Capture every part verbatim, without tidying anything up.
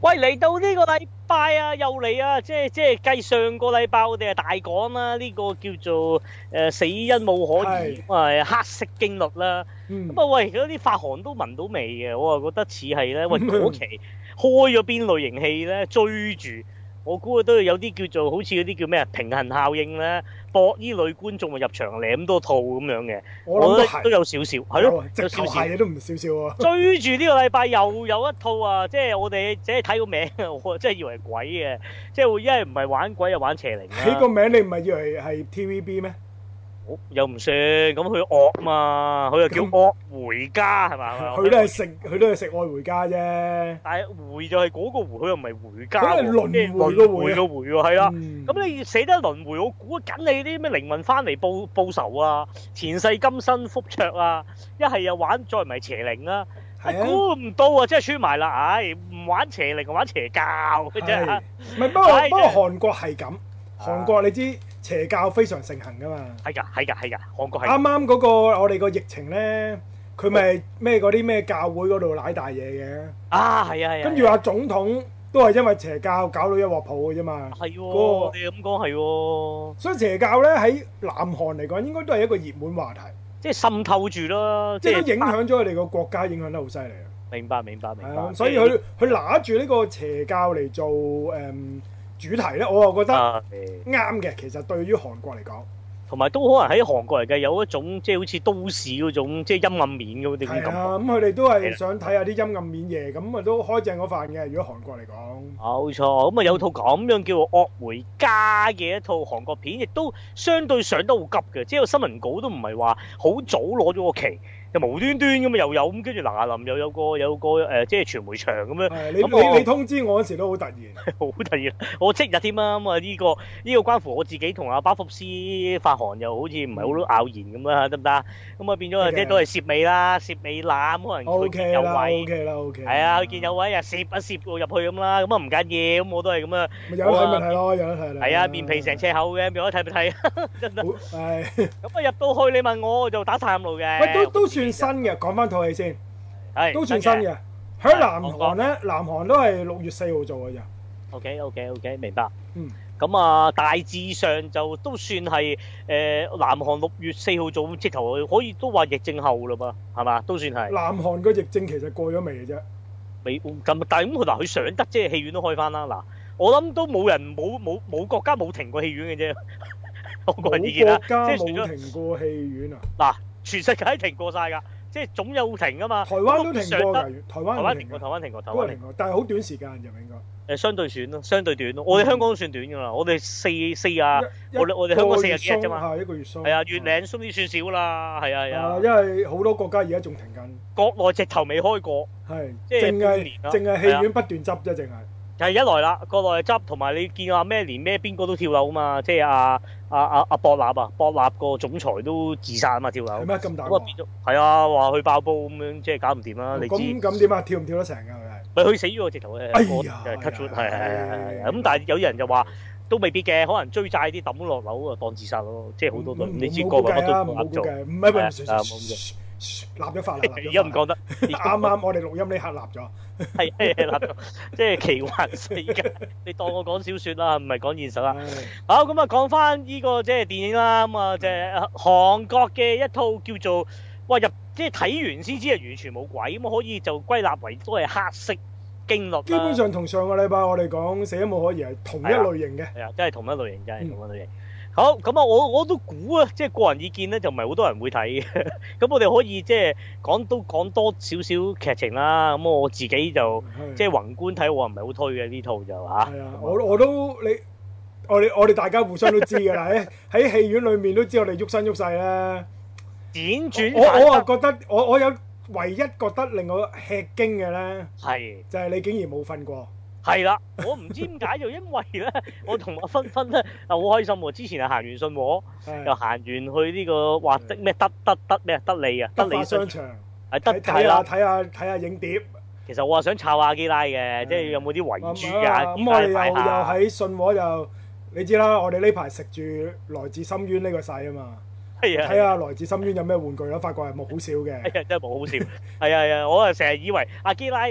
喂，嚟到呢個禮拜啊，又嚟啊，即係即係計上個禮拜我哋係大講啦，呢、這個叫做誒、呃、死因冇可疑，咁啊黑色經律啦。咁啊、嗯、喂，嗰啲發行都聞到味嘅，我啊覺得似係咧，喂嗰期開咗邊類型戲咧，追住。我估啊都有啲叫做好似嗰啲叫咩啊平衡效應咧，博依類觀眾咪入場舐咁多套咁樣嘅，我覺得都有少少，係咯，有少少嘢都唔少少喎。 追住呢個禮拜又有一套啊，即係我哋只係睇個名，我真係以為係鬼嘅，即係一係唔係玩鬼又玩邪靈啊。 睇個名你唔係以為係 T V B 咩？ 又唔算，咁佢惡嘛，佢又叫惡回家係嘛？ 佢都係食，佢都係食愛回家啫。 但係回就係嗰個回，佢又唔係回家。 佢係輪迴個回個回喎，係啦。咁你寫得輪迴，我估緊你啲咩靈魂翻嚟報報仇啊，前世今生復卓啊，一係又玩再唔係邪靈啊。估唔到啊，真係穿埋啦！唉，唔玩邪靈，玩邪教嘅啫。 唔係，不過不過韓國係咁，韓國你知。邪教非常盛行噶嘛？ 係㗎，係㗎，係㗎，韓國係。 啱啱嗰個我哋個疫情咧，佢咪咩嗰啲咩教會嗰度舐大嘢嘅？ 啊，係啊，係啊。 跟住話總統都係因為邪教搞到一鑊泡嘅啫嘛。 係喎，你咁講係喎。 所以邪教咧喺南韓嚟講，應該都係一個熱門話題。 即係滲透住咯， 即係都影響咗佢哋個國家，影響得好犀利啊！ 明白，明白，明白。 所以佢佢拿住呢個邪教嚟做誒主題咧，我又覺得啱嘅。其實對於韓國嚟講， 同埋都可能喺韓國嚟嘅有一種即係好似都市嗰種即係陰暗面嗰啲感覺。 係啊，咁佢哋都係想睇下啲陰暗面嘢，咁啊都開正嗰飯嘅。如果韓國嚟講， 冇錯，咁啊有套咁樣叫做《惡回家》嘅一套韓國片，亦都相對上得好急嘅，即係個新聞稿都唔係話好早攞咗個期。又無端端咁啊又有咁，跟住嗱嗱臨又有個有個誒、呃，即係傳媒場咁樣。 你你你通知我嗰時都好突然， 好突然，我即日添啊！咁啊呢個呢、呢個關乎我自己同阿巴福斯發行又好似唔係好拗言咁啦，得唔得？咁啊變咗即係都係攝尾啦，攝尾攬可能佢見有位 ，OK 啦，OK 啦， 係啊，佢見有位啊攝一攝入去咁啦，咁啊唔緊要，咁我都係咁啊。 有得睇咪睇咯，有得睇啦。 係啊，面皮成尺厚嘅，有得睇咪睇，真係。 係。 咁啊入到去，你問我我就打探路嘅。 喂，都都算新嘅，講翻套戲先， 係都算新嘅。喺南韓咧，南韓都係六月四號做嘅咋。 OK OK OK，明白。 嗯。 咁啊，大致上就都算係誒南韓六月四號做，直頭可以都話疫症後嘞噃，係嘛？都算係。 南韓個疫症其實過咗未嘅啫？ 未咁，但係咁佢嗱佢上得即係戲院都開翻啦。嗱，我諗都冇人冇冇冇國家冇停過戲院嘅啫。我個人意見啦，即係冇停過戲院啊！ 嗱，全世界停過晒㗎。即係總有停噶嘛， 台灣都停過㗎，台灣台灣停過，台灣停過，台灣停過， 但係好短時間就應該。 誒，相對短咯，相對短咯。我哋香港都算短㗎啦，我哋四四啊，我哋我哋香港四十幾日啫嘛， 係一個月鬆。 係啊，月零鬆啲算少啦，係啊係啊。 因為好多國家而家仲停緊。 國內直頭未開過， 係， 即係淨係淨係戲院不斷執啫，淨係。 係一來啦，國內執，同埋你見話咩連咩邊個都跳樓啊嘛，即係阿阿阿阿博納啊，博納個總裁都自殺啊嘛，跳樓。 係咩咁大？ 咁啊變咗係啊，話佢爆煲咁樣，即係搞唔掂啦。你知咁咁點啊？跳唔跳得成㗎？佢係咪佢死咗直頭嘅， 哎呀 ，cut 咗係係係係咁，但係有啲人就話都未必嘅，可能追債啲抌落樓啊，當自殺咯，即係好多都你知個個乜都冇做， 唔係唔係立咗法啦， 而家唔講得， 啱啱我哋錄音呢刻立咗， 係係立咗，即係奇幻世界。你當我講小説啦，唔係講現實啦。好咁啊，講翻呢個即係電影啦。咁啊，即係韓國嘅一套叫做哇入，即係睇完先知係完全冇鬼咁，可以就歸納為都係黑色經律。 基本上同上個禮拜我哋講死因冇可疑係同一類型嘅。 係啊，真係同一類型，真係同一類型。好咁啊！我我都估啊，即係個人意見咧，就唔係好多人會睇嘅。咁我哋可以即係講都講多少少劇情啦。咁我自己就即係宏觀睇，我唔係好推嘅呢套就嚇。 係啊，我我都你我哋我哋大家互相都知㗎啦。喺喺戲院裏面都知我哋喐身喐勢啦。 輾轉我我啊覺得我我有唯一覺得令我吃驚嘅咧， 係就係你竟然冇瞓過。 係啦，我唔知點解就因為咧，我同阿芬芬咧啊好開心喎！之前係行完信和，又行完去呢個話的咩德德德咩德利啊，德利商場， 係德睇下睇下睇下影碟。 其實我話想抄下基拉嘅，即係有冇啲遺珠啊？ 咁我哋又又喺信和又，你知啦，我哋呢排食住來自深淵呢個勢啊嘛。 係啊， 睇下來自深淵有咩玩具啦，發覺係冇好笑嘅。 係啊，真係冇好笑。係啊係啊，我啊成日以為阿基拉。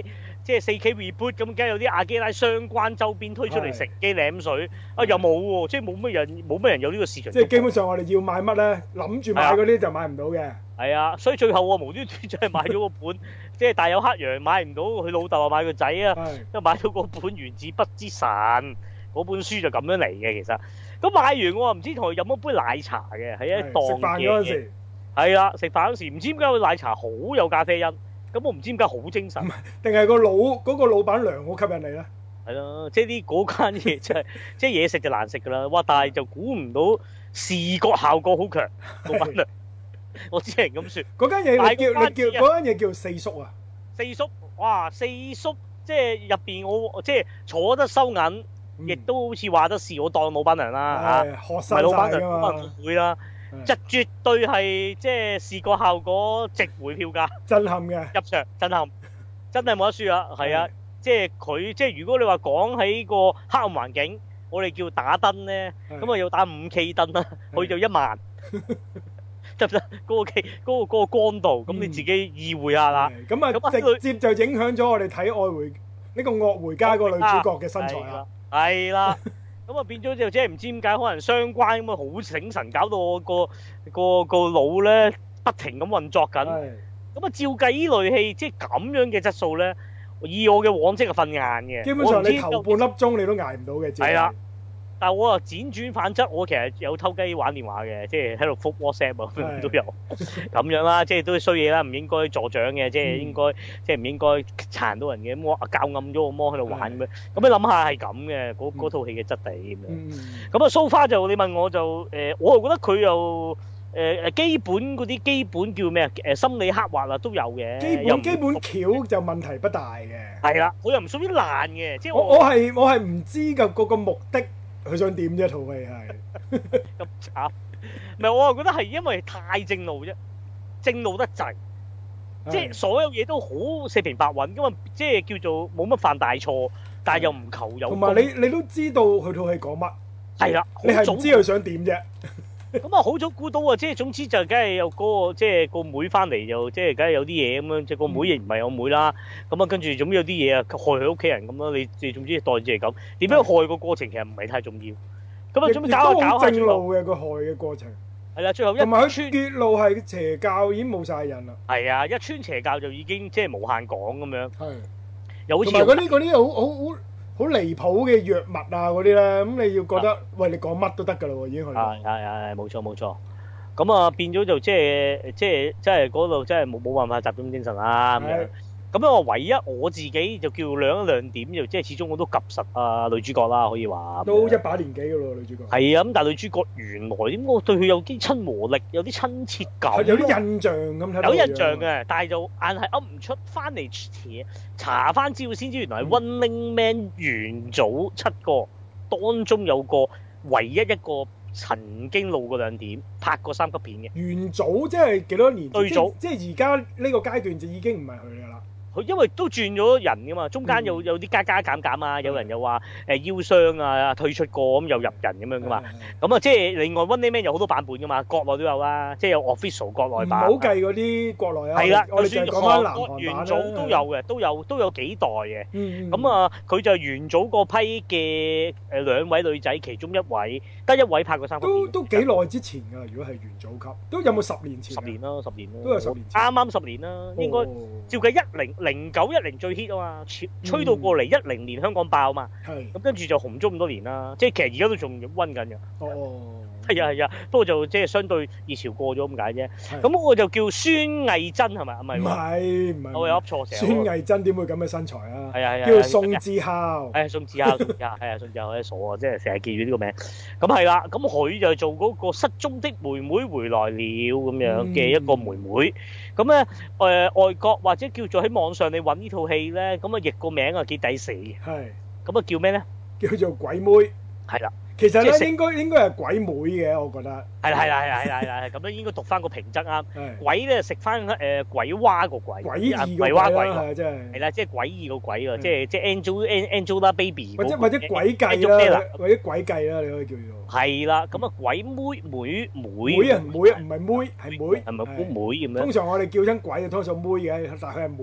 即係四 K reboot 咁，梗係有啲阿基拉相關周邊推出嚟食機舐水啊，又冇喎，即係冇乜人冇乜人有呢個市場。 即係基本上我哋要買乜咧，諗住買嗰啲就買唔到嘅。 係啊，所以最後我無端端就係買咗個本，即係大有黑羊買唔到，佢老豆啊買個仔啊，即係買到個本《原子筆之神》嗰本書就咁樣嚟嘅其實。咁買完我唔知同佢飲咗杯奶茶嘅，喺一檔嘅。係啦，食飯嗰時唔知點解個奶茶好有咖啡因，咁我唔知點解好精神， 定係個老嗰個老闆娘好吸引你咧？ 係咯，即係啲嗰間嘢真係，即係嘢食就難食噶啦，哇！但係就估唔到視覺效果好強，老闆娘，我只係咁説。 嗰間嘢你叫你叫嗰間嘢叫四叔啊？ 四叔，哇！四叔即係入邊我即係坐得收銀，亦都好似話得是我當老闆娘啦嚇，唔係老闆娘，老闆娘會啦。就絕對係即係視覺效果值回票價， 震撼嘅入場震撼，真係冇得輸啊！係啊，即係佢即係如果你話講喺個黑暗環境，我哋叫打燈咧，咁啊要打五 K 燈啦，去到一萬，得唔得？嗰個 K 嗰個嗰個光度，咁你自己意會下啦。 咁啊，直接就影響咗我哋睇愛回呢個惡回家個女主角嘅身材啦。係啦。咁啊變咗就即係唔知點解，可能相關咁啊好醒神，搞到我個個個腦咧不停咁運作緊。咁啊照計依類戲即係咁樣嘅質素咧，以我嘅往績係瞓晏嘅。基本上你頭半粒鐘你都捱唔到嘅。係啦，但係我啊輾轉反側，我其實有偷雞玩電話嘅，即係喺度覆 WhatsApp 啊都有咁樣啦，即係都係衰嘢啦，唔應該助長嘅，即係應該即係唔應該殘到人嘅。咁我校暗咗個魔喺度玩咁樣，咁你諗下係咁嘅嗰嗰套戲嘅質地咁樣。咁啊 so far 就你問我就誒，我又覺得佢又誒誒基本嗰啲基本叫咩啊？誒心理刻畫啊都有嘅。基本基本橋就問題不大嘅。係啦，我又唔屬於爛嘅，即係我我係我係唔知嘅嗰個目的。佢想點啫？套戲係咁慘，唔係我又覺得係因為太正路啫，正路得滯，即係所有嘢都好四平八穩，咁啊即係叫做冇乜犯大錯，但係又唔求有。同埋你你都知道佢套戲講乜，係啦，你係唔知佢想點啫。咁啊好早估到啊，即係總之就梗係有嗰個即係個妹翻嚟就即係梗係有啲嘢咁樣，即係個妹亦唔係我妹啦。咁啊跟住總之有啲嘢啊害佢屋企人咁咯。你你總之代住係咁，點樣害個過程其實唔係太重要。咁啊總之搞下搞下正路嘅個害嘅過程。係啦，最後一同埋佢結路係邪教已經冇晒人啦。係啊，一穿邪教就已經即係無限講咁樣。係。又好似同埋嗰啲嗰啲好好好。好離譜嘅藥物啊嗰啲咧，咁你要覺得，喂你講乜都得噶啦喎，已經去到。係係係，冇錯冇錯。咁啊變咗就即係即係即係嗰度真係冇冇辦法集中精神啦咁樣。咁樣我唯一我自己就叫亮一亮點，就即係始終我都及實啊女主角啦，可以話。都一把年紀噶咯女主角。係啊，咁但係女主角原來點我對佢有啲親和力，有啲親切感。有啲印象咁睇。有印象嘅，但係就硬係噏唔出，翻嚟查翻資料先知，原來係 Running Man 元祖七個當中有個唯一一個曾經露過兩點拍過三級片嘅。元祖即係幾多年？對祖即係而家呢個階段就已經唔係佢噶啦。佢因為都轉咗人噶嘛，中間有有啲加加減減啊，有人又話誒腰傷啊，退出過咁又入人咁樣噶嘛。咁啊，即係另外 Running Man 有好多版本噶嘛，國內都有啦，即係有 official 國內版。唔好計嗰啲國內啊。係啦，就算韓國元祖都有嘅，都有都有幾代嘅。咁啊，佢就元祖嗰批嘅誒兩位女仔，其中一位得一位拍過三級片。都都幾耐之前㗎，如果係元祖級，都有冇十年前？十年啦，十年啦。都有十年前。啱啱十年啦，應該照計一零。零九一零最 hit 啊嘛，吹到過嚟一零年香港爆嘛，咁跟住就紅咗咁多年啦。即係其實而家都仲溫緊嘅。哦，係啊係啊，不過就即係相對熱潮過咗咁解啫。咁我就叫孫藝珍係咪？唔係唔係唔係，我有噏錯成。孫藝珍點會咁嘅身材啊？係啊係啊，叫宋智孝。係宋智孝，宋智孝係啊，宋智孝好傻啊，即係成日記住呢個名。咁係啦，咁佢就做嗰個失蹤的妹妹回來了咁樣嘅一個妹妹。咁咧誒外國或者叫做喺網上你揾呢套戲咧，咁啊譯個名啊幾抵死嘅。係。咁啊叫咩咧？叫做鬼妹。係啦。其實咧應該應該係鬼妹嘅，我覺得。係啦係啦係啦係啦係咁樣應該讀翻個平仄啱。鬼咧食翻誒鬼娃個鬼。鬼異個鬼啦，係真係。係啦，即係詭異個鬼啊，即係即係 Angel Angelababy。或者或者鬼計啦，或者鬼計啦，你可以叫做。係啦，咁啊鬼妹妹妹。妹啊妹啊，唔係妹係妹。係咪妹妹咁樣？通常我哋叫親鬼啊，通常妹嘅，但係佢係妹。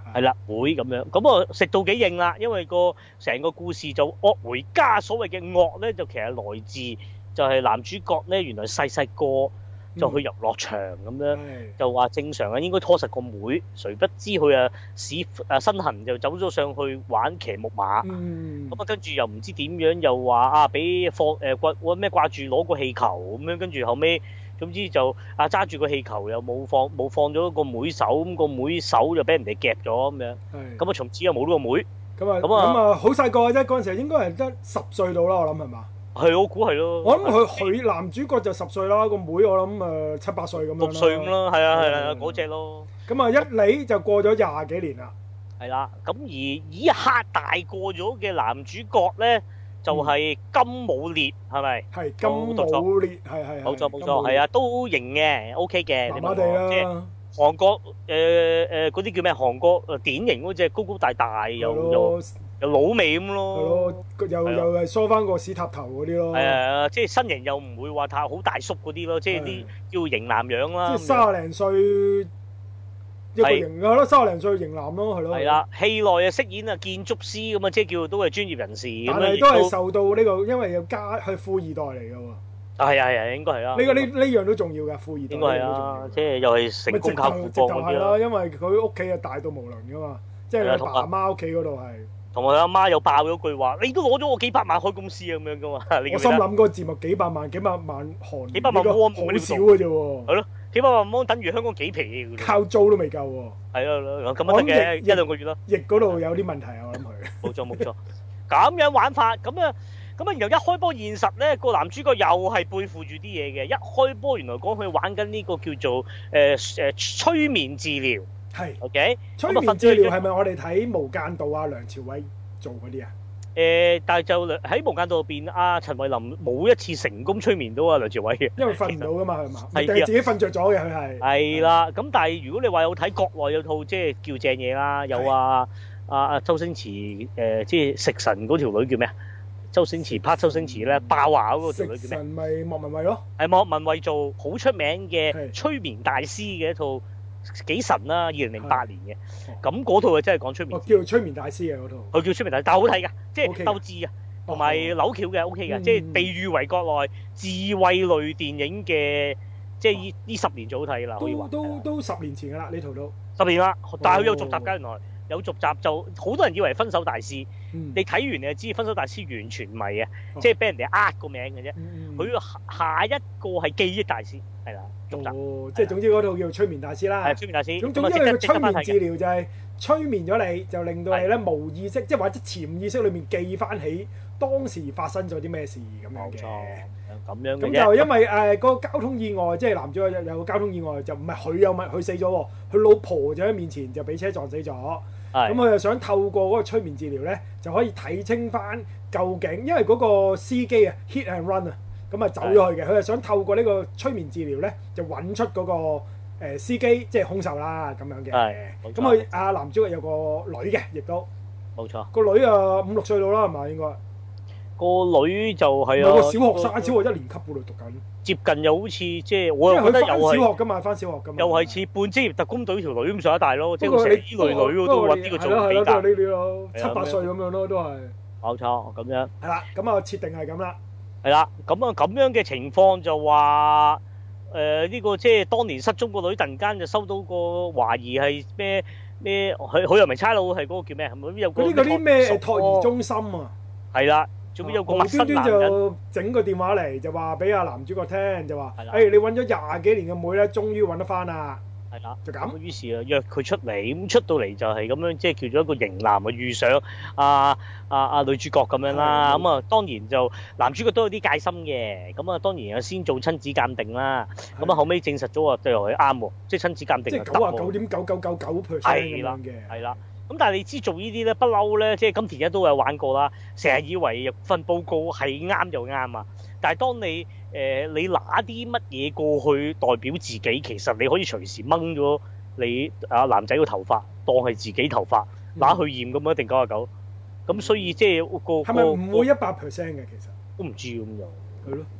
係啦，會咁樣，咁啊食到幾硬啦，因為個成個故事就惡回家，所謂嘅惡咧就其實來自就係男主角咧，原來細細個就去遊樂場咁樣，嗯、就話正常啊應該拖實個妹，誰不知佢啊屎啊身痕就走咗上去玩騎木馬，咁啊、嗯、跟住又唔知點樣又話啊俾放誒掛咩掛住攞個氣球咁樣，跟住後尾。總之就啊揸住個氣球又冇放冇放咗個妹手，咁個妹手就俾人哋夾咗咁樣，咁啊從此又冇呢個妹。 咁啊咁啊好細個嘅啫，嗰陣時應該係得十歲到啦，我諗係嘛？係我估係咯。 我諗佢佢男主角就十歲啦，個妹我諗誒七八歲咁樣。 六歲咁咯，係啊係啊嗰隻咯。 咁啊一嚟就過咗廿幾年啦。 係啦，咁而一刻大個咗嘅男主角咧。就係金武烈係咪？係金武烈，係係冇錯冇錯，係啊都型嘅 ，OK 嘅。 麻麻地啦。 即係韓國誒誒嗰啲叫咩？韓國誒典型嗰隻高高大大又又又老味咁咯。係咯，又又係梳翻個屎塔頭嗰啲咯。係啊，即係身形又唔會話太好大叔嗰啲咯，即係啲叫型男樣啦。即係卅零歲。一個型係咯，三十零歲型男咯，係咯。係啦，戲內啊飾演啊建築師咁啊，即係叫都係專業人士。但係都係受到呢個，因為有家係富二代嚟㗎喎。係啊係啊，應該係啦。呢個呢呢樣都重要㗎，富二代。應該係啊，即係又係成功靠父幫嗰啲咯。因為佢屋企啊大到無倫㗎嘛，即係佢爸媽屋企嗰度係。同埋佢阿媽又爆咗句話：你都攞咗我幾百萬開公司咁樣㗎嘛？我心諗嗰個節目幾百萬幾百萬韓幾百萬喎，好少嘅啫喎。係咯。幾百萬蚊等於香港幾皮嘅，靠租都未夠喎。係啊，咁樣得嘅，一兩個月咯。翼嗰度有啲問題啊，我諗佢。冇錯冇錯，咁樣玩法，咁啊，咁啊，然後一開波現實咧，個男主角又係背負住啲嘢嘅。一開波原來講佢玩緊呢個叫做誒誒催眠治療。係。OK。催眠治療係咪我哋睇《無間道》啊梁朝偉做嗰啲啊？誒，但係就喺無間道入邊，阿陳慧琳冇一次成功催眠到阿梁朝偉嘅，因為瞓唔到噶嘛，係嘛？係定係自己瞓着咗嘅佢係。係啦，咁但係如果你話有睇國內有套即係叫正嘢啦，有啊啊啊周星馳誒，即係食神嗰條女叫咩啊？周星馳拍周星馳咧爆話嗰個條女叫咩？食神咪莫文蔚咯。係莫文蔚做好出名嘅催眠大師嘅一套。幾神啦！二零零八年嘅，咁嗰套啊真係講催眠，叫催眠大師嘅嗰套，佢叫催眠大師，但係好睇㗎，即係鬥智啊，同埋扭橋嘅 OK 嘅，即係被譽為國內智慧類電影嘅，即係呢呢十年最好睇啦，可以話。都都都十年前㗎啦，呢套都十年啦，但係佢有續集㗎，原來有續集就好多人以為分手大師，你睇完你就知分手大師完全唔係嘅，即係俾人哋呃個名嘅啫，佢下一個係記憶大師，係啦。哦，即係總之嗰套叫催眠大師啦。係催眠大師。咁總之佢催眠治療就係催眠咗你，就令到你咧無意識，即係或者潛意識裏面記翻起當時發生咗啲咩事咁樣嘅。冇錯，咁樣嘅啫。咁就因為誒個交通意外，即係男主角有有個交通意外，就唔係佢有咪佢死咗喎，佢老婆就喺面前就俾車撞死咗。係。咁佢就想透過嗰個催眠治療咧，就可以睇清翻究竟，因為嗰個司機啊 hit and run 啊。咁啊走咗去嘅，佢係想透過呢個催眠治療咧，就揾出嗰個誒司機，即係兇手啦咁樣嘅。係，咁佢阿男主角有個女嘅，亦都冇錯。個女啊五六歲到啦，係咪應該？個女就係啊，有個小學生，小學一年級嗰度讀緊。接近又好似即係我又覺得又係小學㗎嘛，翻小學㗎嘛。又係似半職業特工隊條女咁上一大咯，即係成啲女女都揾呢個做比較。呢啲咯，七八歲咁樣咯，都係。冇錯，咁樣。係啦，咁啊設定係咁啦。係啦，咁啊咁樣嘅情況就話誒呢個即係當年失蹤個女，突然間就收到個懷疑係咩咩，佢佢又唔係差佬，係嗰個叫咩？係咪有個嗰啲嗰啲咩托兒中心啊？係啦，仲有個陌生男人就整個電話嚟，就話俾阿男主角聽，就話誒你揾咗廿幾年嘅妹咧，終於揾得翻啦。係啦，就咁。於是啊，約佢出嚟，咁出到嚟就係咁樣，即係叫做一個型男啊，遇上啊啊啊女主角咁樣啦。咁啊，當然就男主角都有啲戒心嘅。咁啊，當然啊，先做親子鑑定啦。咁啊，後尾證實咗啊，就係啱喎，即係親子鑑定。即係九啊九點九九九九 percent 咁樣嘅。係啦。咁但係你知做呢啲咧，不嬲咧，即係金田一都有玩過啦。成日以為份報告係啱就啱啊，但係當你誒、呃、你拿啲乜嘢過去代表自己，其實你可以隨時掹咗你啊男仔個頭髮當係自己頭髮，拿去驗咁一定九啊九。咁所以即係個係咪唔會一百 percent 嘅其實？都唔知咁樣。係咯。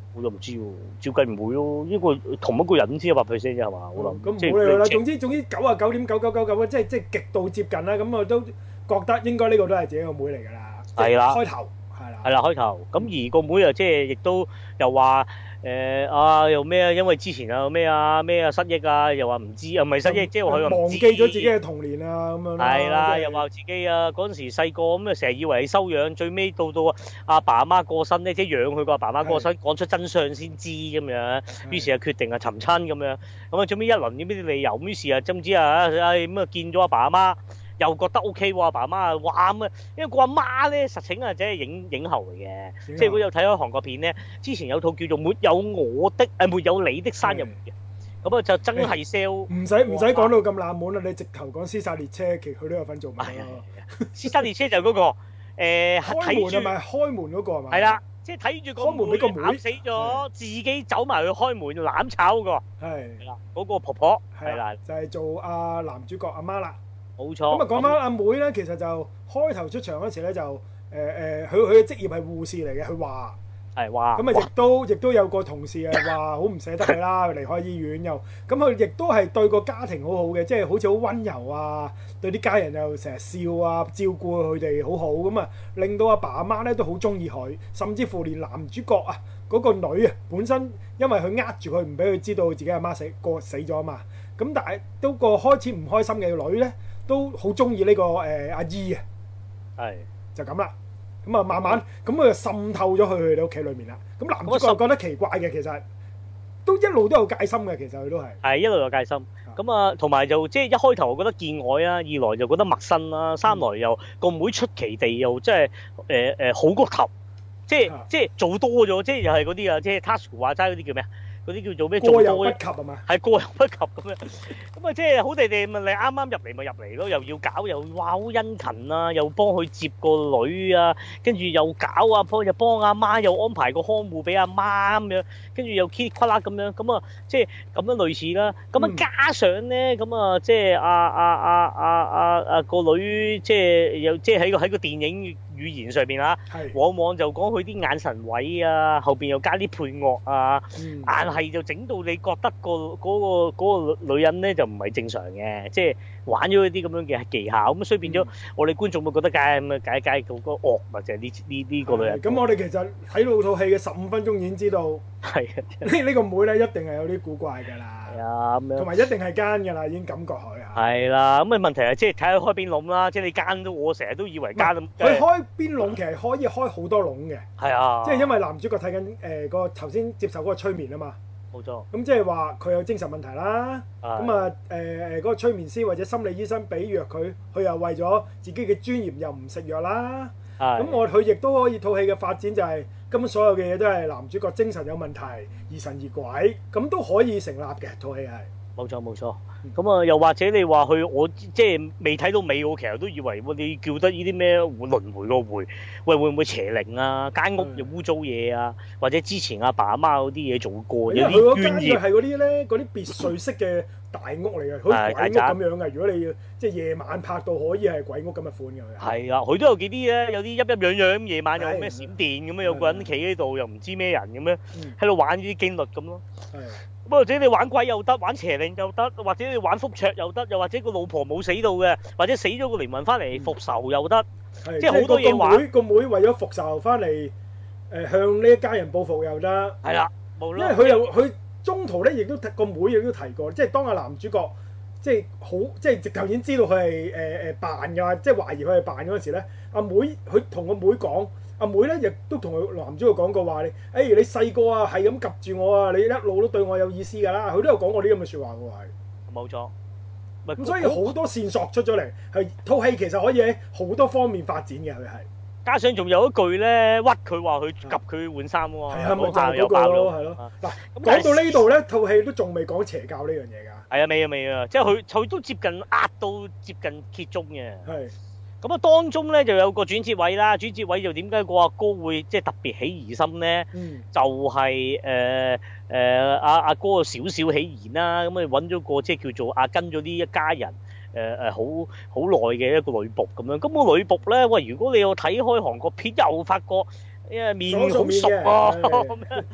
我就唔知喎，照計唔會咯，呢個同一個人先一百 percent 啫係嘛？我諗。 咁冇理由啦，總之總之九啊九點九九九九即係即係極度接近啦。咁我都覺得應該呢個都係自己個妹嚟㗎啦。係啦。開頭係啦。係啦，開頭。咁而個妹啊，即係亦都又話誒啊又咩啊？因為之前啊咩啊咩啊失憶啊，又話唔知啊，唔係失憶，即係佢忘記咗自己嘅童年啊咁樣。 係啦，又話自己啊嗰陣時細個咁啊，成日以為係收養，最尾到到阿爸阿媽過身咧，即係養佢個阿爸阿媽過身，講出真相先知咁樣。於是啊決定啊尋親咁樣。咁啊最尾一輪呢啲理由，於是啊總之啊咁啊見咗阿爸阿媽。又覺得 O K 喎，阿爸阿媽啊，哇咁啊，因為個阿媽咧實情啊，即係影影后嚟嘅，即係如果有睇開韓國片咧，之前有套叫做《沒有我的》誒沒有你的生日會嘅，咁啊就真係 sell。唔使唔使講到咁冷門啦，你直頭講《屍殺列車》，其實佢都有份做埋咯。《屍殺列車》就嗰個誒開門係咪開門嗰個係嘛？係啦，即係睇住個門俾個妹死咗，自己走埋去開門攬炒嗰個。係啦，嗰個婆婆係啦，就係做阿男主角阿媽啦。冇錯。咁啊講翻阿妹咧，其實就開頭出場嗰時咧就誒誒，佢佢嘅職業係護士嚟嘅，佢話係話。咁啊亦都亦都有個同事啊話好唔捨得佢啦，離開醫院又咁佢亦都係對個家庭好好嘅，即係好似好溫柔啊，對啲家人又成日笑啊，照顧佢哋好好咁啊，令到阿爸阿媽咧都好中意佢，甚至乎連男主角啊嗰個女啊本身因為佢呃住佢，唔俾佢知道自己阿媽死過死咗啊嘛，咁但係都個開始唔開心嘅女咧。都好中意呢個誒、呃、阿姨啊，係就咁啦。咁啊慢慢咁佢、嗯、就滲透咗去佢哋屋企裏面啦。咁男主角覺得奇怪嘅，其實都一路都有戒心嘅。其實佢都係係一路有戒心。咁啊同埋就即係一開頭我覺得見外啊，二來就覺得陌生啦，三來又個、嗯、妹出奇地又即係誒誒好過頭，即係、啊、即係做多咗，即係又係嗰啲啊，即係 Tasuku 話齋嗰啲叫咩啊？嗰啲叫做咩？過猶不及係嘛？係過猶不及咁樣，咁啊即係好地地咪你啱啱入嚟咪入嚟咯，又要搞又哇好殷勤啊，又幫佢接個女啊，跟住又搞啊幫又幫阿媽又安排個看護俾阿媽咁樣，跟住又 kitty 啦咁樣，咁啊即係咁樣類似啦。咁啊加上咧，咁啊即係阿阿阿阿阿阿個女即係又即係喺個喺個電影語言上邊啊，往往就講佢啲眼神位啊，後邊又加啲配樂啊，硬係就整到你覺得個嗰個嗰個女人咧就唔係正常嘅，即係玩咗一啲咁樣嘅技巧，咁所以變咗我哋觀眾會覺得梗係咁啊，解解嗰個惡咪就係呢呢呢個女人。咁我哋其實睇到套戲嘅十五分鐘已經知道，係啊，呢呢個妹咧一定係有啲古怪㗎啦。係啊，咁樣同埋一定係奸㗎啦，已經感覺佢啊。係啦，咁啊問題係即係睇下開邊籠啦，即係你奸都我成日都以為奸咁。佢開邊籠其實可以開好多籠嘅。係啊，即係因為男主角睇緊誒個頭先接受嗰個催眠啊嘛。冇錯。咁即係話佢有精神問題啦。咁啊誒誒嗰個催眠師或者心理醫生俾藥佢，佢又為咗自己嘅尊嚴又唔食藥啦。咁我佢亦都可以套戲嘅發展就係根本所有嘅嘢都係男主角精神有問題，疑神疑鬼，咁都可以成立嘅套戲係。冇錯冇錯。咁啊又或者你話佢我即係未睇到尾，我其實都以為你叫得呢啲咩輪迴個迴，喂會唔會邪靈啊？間屋又污糟嘢啊？或者之前阿爸阿媽嗰啲嘢做過，有啲捐業係嗰啲咧，嗰啲別墅式嘅大屋嚟嘅，好似鬼屋咁樣嘅。如果你要即係夜晚拍到可以係鬼屋咁嘅款嘅。係啊，佢都有幾啲咧，有啲陰陰陽陽，夜晚有咩閃電咁樣，有個人企喺度又唔知咩人咁樣，喺度玩呢啲經律咁咯。係。咁或者你玩鬼又得，玩邪靈又得，或者你玩覆桌又得，又或者個老婆冇死到嘅，或者死咗個靈魂翻嚟復仇又得，嗯、即係好多嘢玩。個妹個妹為咗復仇翻嚟，誒向呢一家人報復又得。係啦，無論因為佢又佢中途咧，亦都個妹亦都提過，即係當阿男主角即係好即係直頭已經知道佢係誒誒扮㗎，即係懷疑佢係扮嗰陣時咧，阿妹佢同個妹講。阿妹咧亦都同佢男主角講過話你，誒你細個啊係咁及住我啊，你一路都對我有意思㗎啦，佢都有講過呢咁嘅説話喎，係。冇錯。咁所以好多線索出咗嚟，係套戲其實可以喺好多方面發展嘅，佢係。加上仲有一句咧屈佢話佢及佢換衫喎。係啊，咪就係嗰個咯，係咯。嗱，講到呢度咧，套戲都仲未講邪教呢樣嘢㗎。係啊，未啊未啊，即係佢佢都接近壓到接近揭盅嘅。係。咁啊，當中咧就有個轉折位啦，轉折位就點解個阿哥會即係特別起疑心咧？嗯、就係誒誒阿阿哥少少起疑啦，咁啊揾咗個即係叫做阿跟咗呢一家人誒誒好好耐嘅一個女僕咁樣。咁、個女僕咧，喂，如果你有睇開韓國片，又發覺誒面好熟啊咁樣。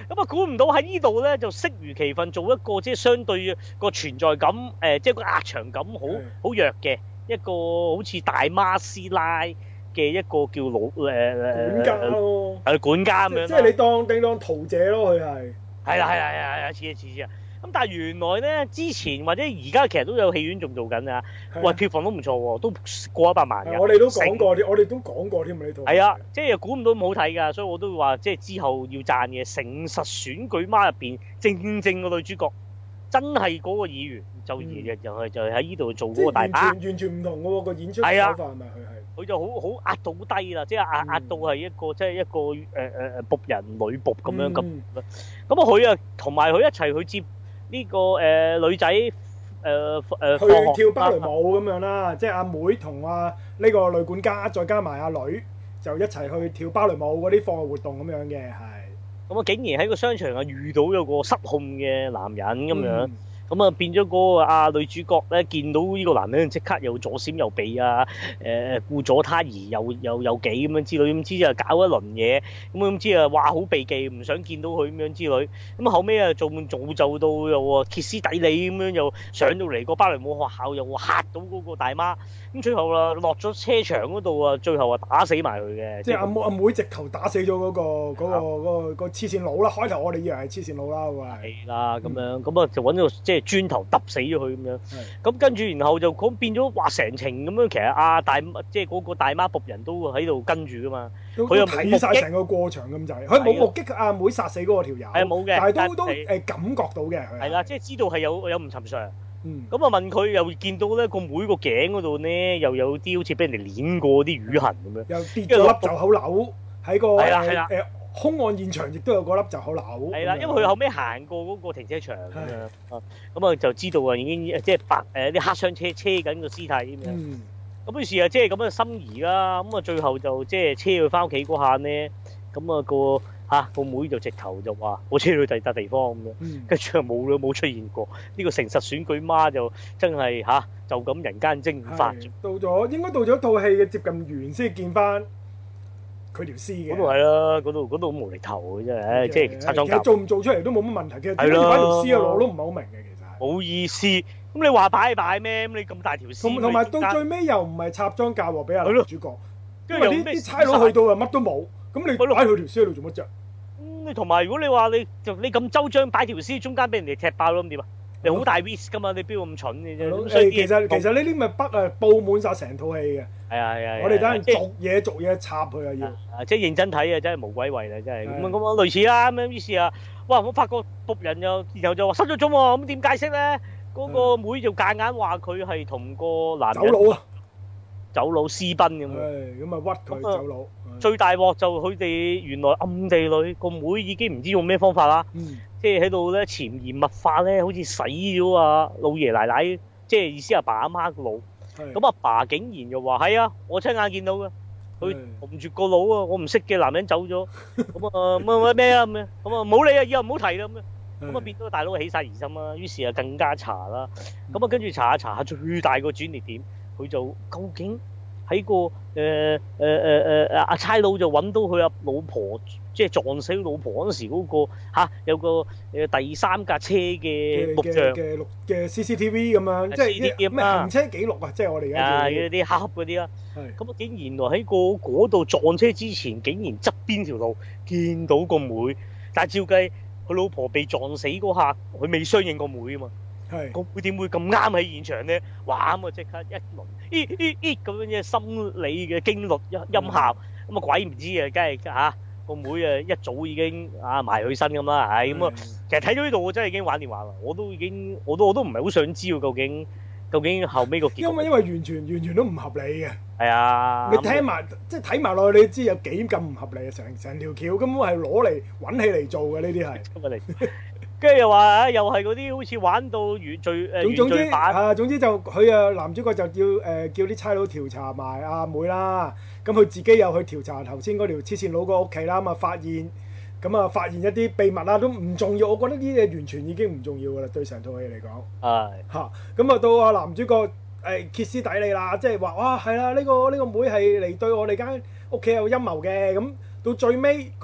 咁啊，估唔到喺呢度咧就適如其分做一個即係相對個存在感誒、呃，即係個壓場感好好弱嘅一個好似大媽師奶嘅一個叫老誒誒、呃、 管家咯， 係管家咁樣。 即係你當你當桃姐咯，佢係。 係啦係啦係啦係啦，似啊似似啊！咁但係原來咧之前或者而家其實都有戲院仲做緊啊，喂票房都唔錯喎，都過一百萬嘅。 我哋都講過啲，我哋都講過添啊呢套。 係啊，即係又估唔到咁好睇㗎，所以我都話即係之後要讚嘅。誠實選舉媽入邊正正個女主角真係嗰個議員，就而又又係就係喺呢度做嗰個大媽。完全完全唔同嘅喎個演出手法係咪佢係？佢就好好壓到好低啦，即係壓壓到係一個即係一個誒誒誒僕人女僕咁樣咁。咁啊佢啊同埋佢一齊去接。呢、這個誒、呃、女仔誒誒去跳芭蕾舞咁樣啦，即係阿妹同阿呢個女管家，再加埋阿女，就一齊去跳芭蕾舞嗰啲課外活動咁樣嘅，係。咁啊，竟然喺個商場啊遇到有個失控嘅男人咁樣。嗯咁啊變咗嗰個啊女主角咧，見到呢個男人即刻又左閃右避啊，誒顧左他而又又又幾咁樣之類，咁之後搞一輪嘢，咁咁之後話好避忌，唔想見到佢咁樣之類，咁後尾啊做做就到又歇斯底里咁樣又上到嚟個芭蕾舞學校又嚇到嗰個大媽，咁最後啦落咗車場嗰度啊，最後啊打死埋佢嘅。即係阿妹阿妹直頭打死咗嗰、嗰個嗰、嗰個嗰、嗰個、嗰個黐線佬啦！開頭我哋以為係黐線佬啦，喎係啦咁樣，咁啊就揾到即係。磚頭揼死咗佢咁樣，咁跟住然後就講變咗話成程咁樣，其實阿、啊、大即係嗰個大媽僕人都喺度跟住噶嘛，佢又睇晒成個過場咁滯，佢冇目擊阿妹殺死嗰個條友，係冇嘅，但係都都誒感覺到嘅，係啦，即係知道係有有唔尋常。嗯，咁啊問佢又見到咧個妹個頸嗰度咧又有啲好似俾人哋碾過啲瘀痕咁樣，又跌咗粒袖口瘤喺個係啦係啦誒。兇案現場亦都有個粒就好扭，係啦，因為佢後尾行過嗰個停車場咁樣，咁啊就知道啊已經即係白誒啲黑箱車車緊個屍體咁樣，咁於是啊即係咁嘅心儀啦，咁啊最後就即係車佢翻屋企嗰下咧，咁啊個嚇個妹就直頭就話我車去第笪地方咁樣，跟住又冇啦冇出現過，呢個誠實選舉媽就真係嚇就咁人間蒸發。到咗應該到咗套戲嘅接近完先見翻。佢條屍嘅嗰度係啦，嗰度嗰度好無厘頭嘅真係，唉，即係拆裝甲。其實做唔做出嚟都冇乜問題嘅，點解要擺條屍啊？我都唔係好明嘅，其實。冇意思，咁你話擺擺咩？咁你咁大條屍。同同埋到最尾又唔係插裝甲喎，俾阿女主角。跟住啲啲差佬去到又乜都冇，咁你擺佢條屍喺度做乜啫？咁你同埋如果你話你就你咁周章擺條屍中間俾人哋踢爆咯，咁點啊？你好大 risk 噶嘛？你邊咁蠢嘅啫？咁所以其實其實呢啲咪北啊佈滿曬成套戲嘅。係啊係啊！我哋等陣逐嘢逐嘢插佢啊要。啊即係認真睇啊，真係無鬼謂啦，真係咁啊咁啊類似啦咁樣。於是啊，哇！我發覺僕人又然後就話失咗蹤喎，咁點解釋咧？嗰個妹就夾硬話佢係同個男人走佬啊，走佬私奔咁樣。咁啊屈佢走佬。最大鑊就佢哋原來暗地裏個妹已經唔知用咩方法啦。嗯。即係喺度咧潛移默化咧，好似洗咗啊老爺奶奶，即係意思阿爸阿媽個腦。咁阿爸竟然又話係啊，我親眼見到嘅，佢同住個腦啊，我唔識嘅男人走咗。咁啊乜咩啊咁樣，咁啊冇理啊，以後唔好提啦咁樣。咁啊變咗大佬起晒疑心啦，於是啊更加查啦。咁啊跟住查下查下，最大個轉捩點，佢就究竟喺個誒誒誒誒阿差佬就揾到佢阿老婆。即係撞死老婆嗰陣時嗰個嚇有個誒第三架車嘅錄像嘅錄嘅 C C T V 咁樣，即係咩行車記錄啊！即係我哋而家啊嗰啲黑盒嗰啲啦。咁啊竟然原來喺個嗰度撞車之前，竟然側邊條路見到個妹，但係照計佢老婆被撞死嗰下，佢未相應個妹啊嘛。係個妹點會咁啱喺現場咧？哇！咁啊即刻一輪咦咦咦咁樣嘅心理嘅驚慄音音效，咁啊鬼唔知啊，梗係嚇。個妹啊，一早已經啊埋佢身咁啦，係咁啊。其實睇到呢度，我真係已經玩電話啦。我都已經，我都我都唔係好想知道究竟究竟後尾個結局。因為因為完全完全都唔合理嘅。係啊。你聽埋即係睇埋落去，你知有幾咁唔合理啊！成成條橋根本係攞嚟揾戲嚟做嘅呢啲係。跟住又話啊，又係嗰啲好似玩到原罪誒原罪版啊。總之就佢啊男主角就叫誒叫啲差佬調查埋阿妹啦。咁佢自己又去調查頭先嗰條黐線佬個屋企啦，咁啊發現，咁啊發現一啲秘密啦，都唔重要。我覺得呢啲嘢完全已經唔重要噶啦，對成套戲嚟講。係嚇，咁啊到阿男主角誒歇斯底里啦，即係話哇係啦，呢個呢個妹係嚟對我哋間屋企有陰謀嘅。咁到最尾嗰啲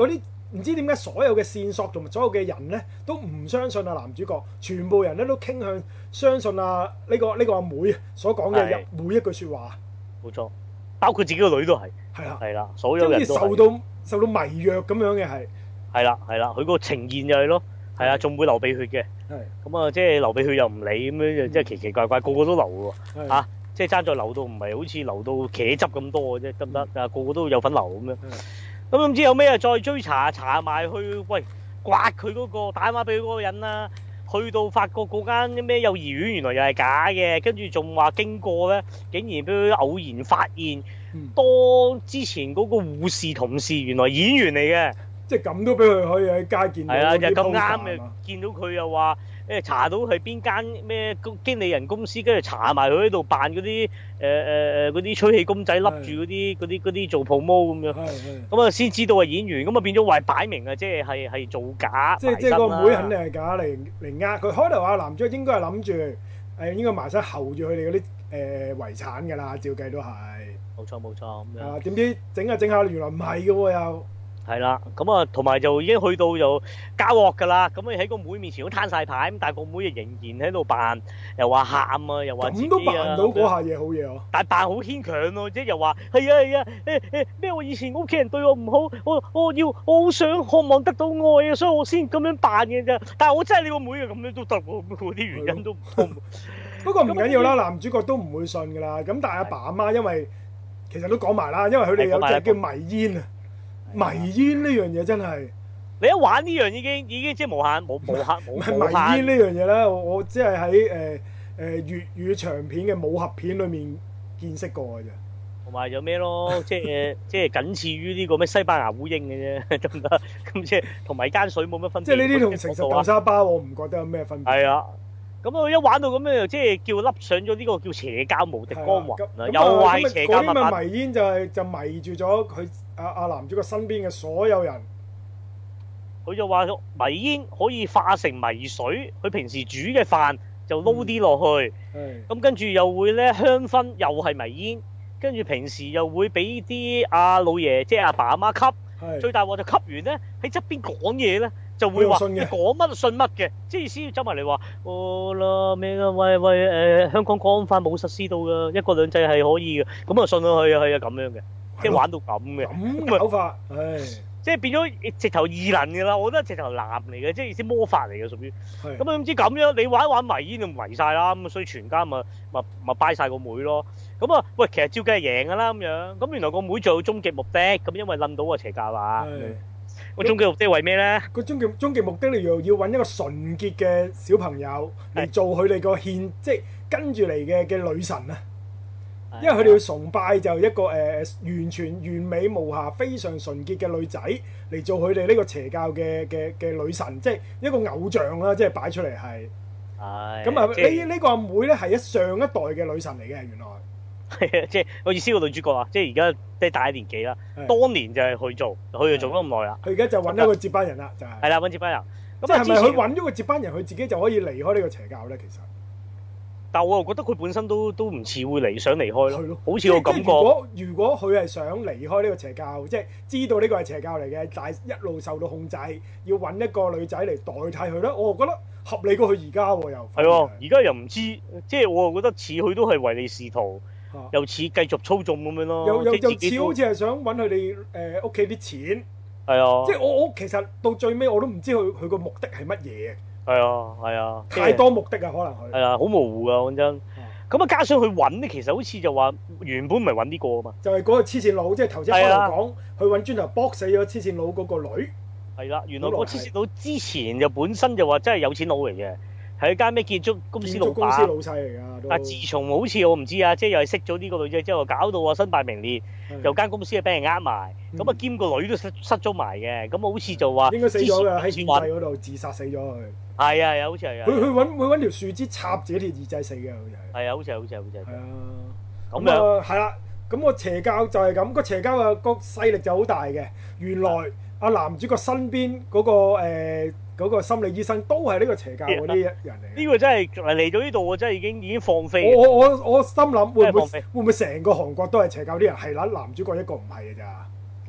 唔知點解所有嘅線索同埋所有嘅人咧都唔相信啊男主角，全部人咧都傾向相信啊呢個呢個阿妹所講嘅每一句説話。 冇錯，包括自己個女都係。係啦，係啦，所有人都受到受到迷藥咁樣嘅係。係啦，係啦，佢個呈現就係咯，係啊，仲會流鼻血嘅。係。咁啊，即係流鼻血又唔理咁樣，即係奇奇怪怪，個個都流喎。係。嚇！即係爭在流到唔係好似流到茄汁咁多嘅啫，得唔得？啊，個個都有份流咁樣。咁唔知有咩啊？再追查查埋去，喂，刮佢嗰個打電話俾佢嗰個人啦。去到發覺嗰間咩幼兒園原來又係假嘅，跟住仲話經過咧，竟然俾佢偶然發現，當之前嗰個護士同事原來演員嚟嘅。即係咁都俾佢可以喺街見到。係啊，就咁啱嘅，見到佢又話誒查到係邊間咩經理人公司，跟住查埋佢喺度扮嗰啲誒誒誒嗰啲吹氣公仔，笠住嗰啲嗰啲嗰啲做 promo 咁樣。咁啊先知道係演員，咁啊變咗話擺明啊，即係係係造假。即係即係個妹肯定係假嚟嚟呃佢。開頭阿男主應該係諗住誒應該埋身候住佢哋嗰啲誒遺產㗎啦，照計都係。冇錯冇錯咁樣。啊點知整下整下原來唔係嘅喎又。係啦，咁啊，同埋就已經去到就交惡㗎啦。咁你喺個妹面前都攤晒牌，咁但係個妹仍然喺度扮，又話喊啊，又話自己啊。咁都扮到嗰下嘢好嘢喎。但係扮好牽強咯，即係又話係啊係啊，誒誒咩？我以前屋企人對我唔好，我我要我好想渴望得到愛啊，所以我先咁樣扮嘅啫。但係我真係你個妹啊，咁樣都得喎，嗰啲原因都唔通。不過唔緊要啦，男主角都唔會信㗎啦。咁但係阿爸阿媽因為其實都講埋啦，因為佢哋有隻叫迷煙啊。迷煙呢樣嘢真係，你一玩呢樣已經已經即係無限無無限無限。迷煙呢樣嘢咧，我我只係喺誒誒粵語長片嘅武俠片裏面見識過嘅啫。同埋有咩咯？即係即係僅次於呢個咩西班牙烏蠅嘅啫，得唔得？咁即係同埋間水冇乜分別。即係呢啲同誠實豆沙包，我唔覺得有咩分別。係啊。咁啊！一玩到咁樣，即係叫笠上咗呢個叫邪教無敵光環啦，又壞邪教物品。嗰啲咪迷煙就係就迷住咗佢阿阿男主角身邊嘅所有人。佢就話迷煙可以化成迷水，佢平時煮嘅飯就撈啲落去。咁跟住又會咧香薰，又係迷煙。跟住平時又會俾啲阿老爺，即係阿爸阿媽吸。最大鑊就吸完咧，喺側邊講嘢咧。就會話你講乜信乜嘅，即係意思要走埋嚟話，哦啦咩啊，喂喂誒、呃，香港國安法冇實施到噶，一國兩制係可以嘅，咁啊信到佢啊係啊咁樣嘅，即係玩到咁嘅。咁嘅手法，唉，即係變咗直頭異能嘅啦，我覺得直頭男嚟嘅，即係意思魔法嚟嘅屬於。咁啊唔知咁樣，你玩一玩迷煙就迷晒啦，咁所以全家咪咪咪拜晒個妹咯。咁啊，喂，其實照計係贏噶啦咁樣，咁原來個妹仲有終極目的，咁因為諗到個邪教啊。個終極目的為咩咧？個終極終極目的你要要揾一個純潔嘅小朋友嚟做佢哋個獻，即係跟住嚟嘅嘅女神啊！因為佢哋要崇拜就一個誒、呃、完全完美無瑕、非常純潔嘅女仔嚟做佢哋呢個邪教嘅嘅嘅女神，即係一個偶像啦，即係擺出嚟係。係。咁啊，呢呢個阿妹咧係一上一代嘅女神嚟嘅，原來。係啊，即係我意思個女主角啊，即係而家即係大一年紀啦。當年就係佢做，佢就做咗咁耐啦。佢而家就揾一個接班人啦，就係。係啦，揾接班人。即係咪佢揾咗個接班人，佢自己就可以離開呢個邪教咧？其實。但我又覺得佢本身都都唔似會離想離開咯。係咯。好似我感覺。如果如果佢係想離開呢個邪教，即係知道呢個係邪教嚟嘅，但係一路受到控制，要揾一個女仔嚟代替佢咧，我覺得合理過佢而家喎又。係喎，而家又唔知，即係我又覺得似佢都係唯利是圖。又似繼續操縱咁樣咯，又又又似好似係想揾佢哋誒屋企啲錢，係啊，即係我我其實到最尾我都唔知佢佢個目的係乜嘢，係啊係啊，太多目的啊可能佢係啊好模糊噶講真，咁啊加上佢揾咧，其實好似就話原本唔係揾呢個啊嘛，就係嗰個黐線佬，即係頭先開頭講，佢揾磚頭搏死咗黐線佬嗰個女，係啦，原來個黐線佬之前就本身就話真係有錢佬嚟嘅。係一間咩建築公司老闆，公司老細嚟㗎。但自從好似我唔知啊，即係又係識咗呢個女仔之後，搞到啊身敗名裂，又間公司係俾人呃埋，咁啊兼個女都失失咗埋嘅，咁好似就話應該死咗㗎喺獻祭嗰度自殺死咗佢。係啊係啊，好似係啊。佢佢揾佢揾條樹枝插自己條耳仔死嘅，好似係。係啊，好似係好似係好似係。係啊。咁啊係啦，咁個邪教就係咁，個邪教啊個勢力就好大嘅。原來阿男主角身邊嗰個誒。嗰個心理醫生都係呢個邪教嗰啲人嚟。呢個真係嚟到呢度，我真係已經已經放飛。我我我我心諗會唔會會唔會成個韓國都係邪教啲人？係啦，男主角一個唔係嘅咋。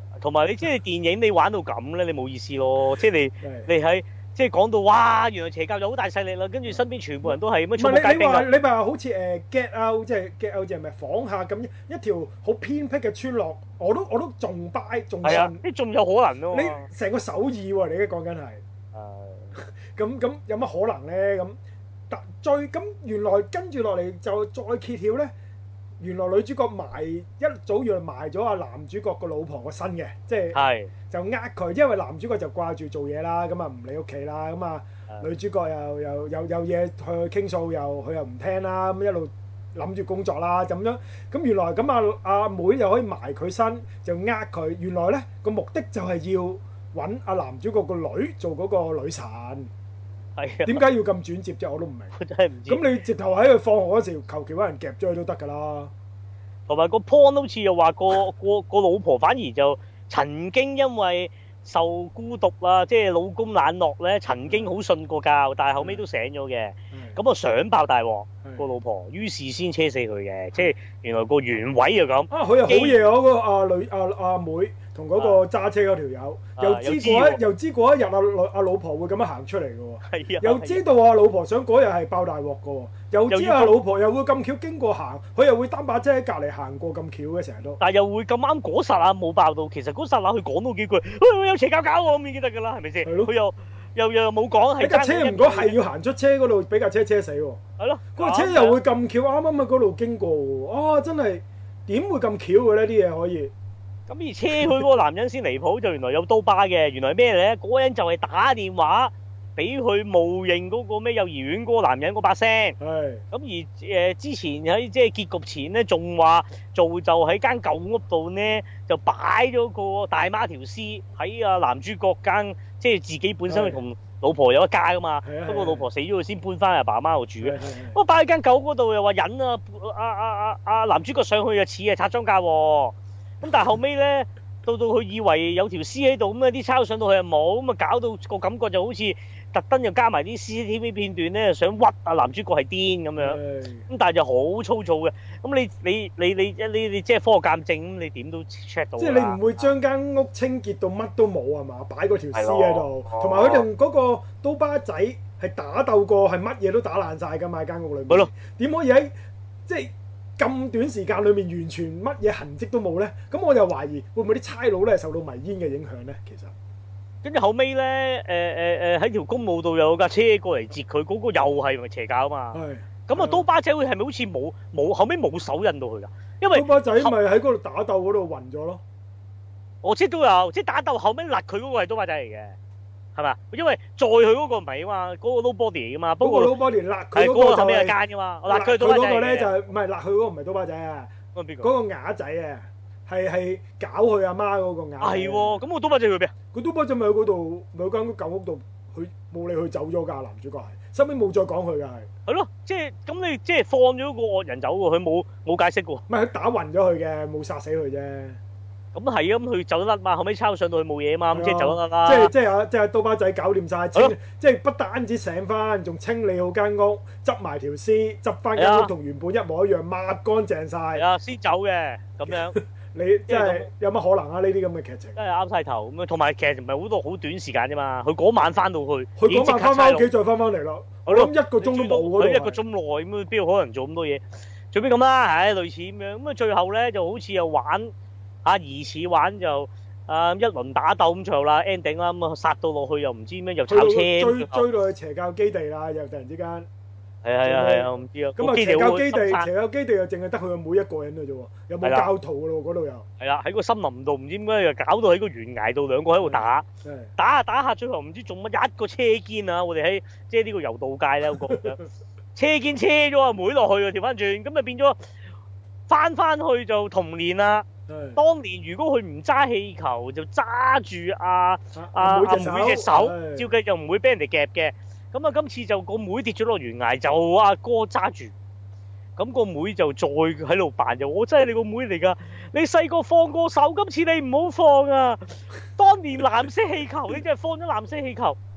同埋你即係電影你玩到咁咧，你冇意思咯。即係你你喺即係講到哇，原來邪教就好大勢力啦，跟住身邊全部人都係咁樣充滿街兵啊！ 你咪話好似誒 Get Out 即係 Get Out 即係咪仿下咁一條好偏僻嘅村落，我都我都仲 buy 仲信。係啊， 你仲有可能咯。 你成個首爾喎，你而家講緊係。誒。咁咁有乜可能咧？咁但最咁原來跟住落嚟就再揭曉咧。原來女主角埋一早原來埋咗阿男主角個老婆個身嘅，即係就呃佢，因為男主角就掛住做嘢啦，咁啊唔理屋企啦，咁啊女主角又又又有嘢去傾訴，又佢又唔聽啦，咁一路諗住工作啦，咁樣咁原來咁啊阿妹又可以埋佢身，就呃佢，原來咧個目的就係要揾阿男主角個女做嗰個女神。係啊，點解要咁轉接啫？我都唔明。我真係唔知。咁你直頭喺佢放學嗰時，求其揾人夾咗佢都得㗎啦。同埋個 point 好似又話個個個老婆反而就曾經因為受孤獨啦，即係老公冷落咧，曾經好信過教，但係後尾都醒咗嘅。咁啊想爆大鑊個老婆，於是先車死佢嘅。即係原來個原委就咁。啊，佢又好嘢嗰個阿女阿阿妹。同嗰個揸車嗰條友，又知嗰一又知嗰一日阿阿老婆會咁樣行出嚟嘅喎，又知道阿老婆想嗰日係爆大鑊嘅喎，又知阿老婆又會咁巧經過行，佢又會擔把遮喺隔離行過咁巧嘅成日都，但係又會咁啱嗰剎那冇爆到，其實嗰剎那佢講到幾句，喂有邪教搞喎咁已經得㗎啦，係咪先？係咯，佢又又又冇講係架車唔該係要行出車嗰度俾架車車死喎，係咯，嗰個車又會咁巧啱啱喺嗰度經過喎，啊真係點會咁巧嘅呢啲嘢可以？咁而車佢嗰個男人先離譜，就原來有刀疤嘅，原來咩咧？嗰個人就係打電話俾佢冒認嗰個咩幼兒園嗰個男人嗰把聲。係。咁而誒之前喺即係結局前咧，仲話做就喺間舊屋度咧，就擺咗個大媽條屍喺啊男主角間，即係自己本身同老婆有一家噶嘛。不過老婆死咗，佢先搬翻阿爸阿媽度住嘅。不過擺喺間舊屋嗰度又話引啊啊啊啊啊男主角上去啊似係拆裝架喎。咁但係後尾咧，到到佢以為有條屍喺度，咁啊啲抄上到去又冇，咁啊搞到個感覺就好似特登又加埋啲 C C T V 片段咧，想屈啊男主角係癲咁樣。咁但係就好粗糙嘅。咁你你你你你你即係科學鑑證，咁你點都 check 到。即係你唔會將間屋清潔到乜都冇係嘛？擺嗰條屍喺度，同埋佢用嗰個刀疤仔係打鬥過，係乜嘢都打爛晒㗎嘛？間屋裏面。係咯。點可以喺即係？咁短時間裏面完全乜嘢痕跡都冇咧，咁我就懷疑會唔會啲差佬咧受到迷煙嘅影響咧？其實，跟住後尾咧，誒誒誒喺條公路度有架車過嚟截佢，嗰個又係咪邪教啊嘛？係。咁啊，刀疤仔會係咪好似冇冇後尾冇手印到佢㗎？因為刀疤仔咪喺嗰度打鬥嗰度暈咗咯。我知都有，即係打鬥後尾勒佢嗰個係刀疤仔嚟嘅。係嘛？因為載佢嗰個唔係啊嘛，嗰個 nobody 嚟噶嘛。不過 nobody 勒佢嗰個就咩奸噶嘛？勒佢嗰個咧就係唔係勒佢嗰個唔係刀疤仔啊？嗰個邊個？嗰個啞仔啊，係係搞佢阿媽嗰個啞。係喎，咁個刀疤仔去邊啊？個刀疤仔咪喺嗰度，咪喺間舊屋度，佢冇理佢走咗㗎。男主角係，收尾冇再講佢㗎係。係咯，即係咁你即係放咗個惡人走喎，佢冇冇解釋喎。唔係佢打暈咗佢嘅，冇殺死佢啫。咁係啊，咁佢走得甩嘛，後尾抄上到去冇嘢嘛，咁即係走得甩啦。即係即係啊，即係刀疤仔搞掂晒，即係不單止醒翻，仲清理好間屋，執埋條屍，執翻間屋同原本一模一樣，抹乾淨晒。係啊，先走嘅咁樣。你即係有乜可能啊？呢啲咁嘅劇情真係啱晒頭咁樣，同埋其實唔係好多好短時間啫嘛。佢嗰晚翻到去，佢嗰晚翻翻屋企再翻翻嚟咯。我諗一個鐘都冇嗰度。佢一個鐘內咁，邊有可能做咁多嘢？最尾咁啦，唉，類似咁樣。咁啊，最後咧就好似又玩。啊！疑似玩就啊一輪打鬥咁最後啦 ending 啦，咁啊殺到落去又唔知咩又炒車追追到去邪教基地啦，又突然之間係啊係啊係啊，我唔知啊。咁啊邪教基地邪教基地又淨係得佢每一個人嘅啫喎，有冇教徒嘅咯嗰度又係啦，喺個森林度唔知點解又搞到喺個懸崖度兩個喺度打打下打下，最後唔知做乜一個車肩啊！我哋喺即係呢個柔道界咧有個車肩車咗阿妹落去啊，調翻轉咁啊變咗翻翻去就童年啦。當年如果佢唔揸氣球，就揸住阿阿阿妹隻手，照計就唔會俾人哋夾嘅。咁啊，今次就個妹跌咗落懸崖，就阿哥揸住。咁個妹就再喺度扮，就我真係你個妹嚟㗎。你細個放過手，今次你唔好放啊！當年藍色氣球，你真係放咗藍色氣球。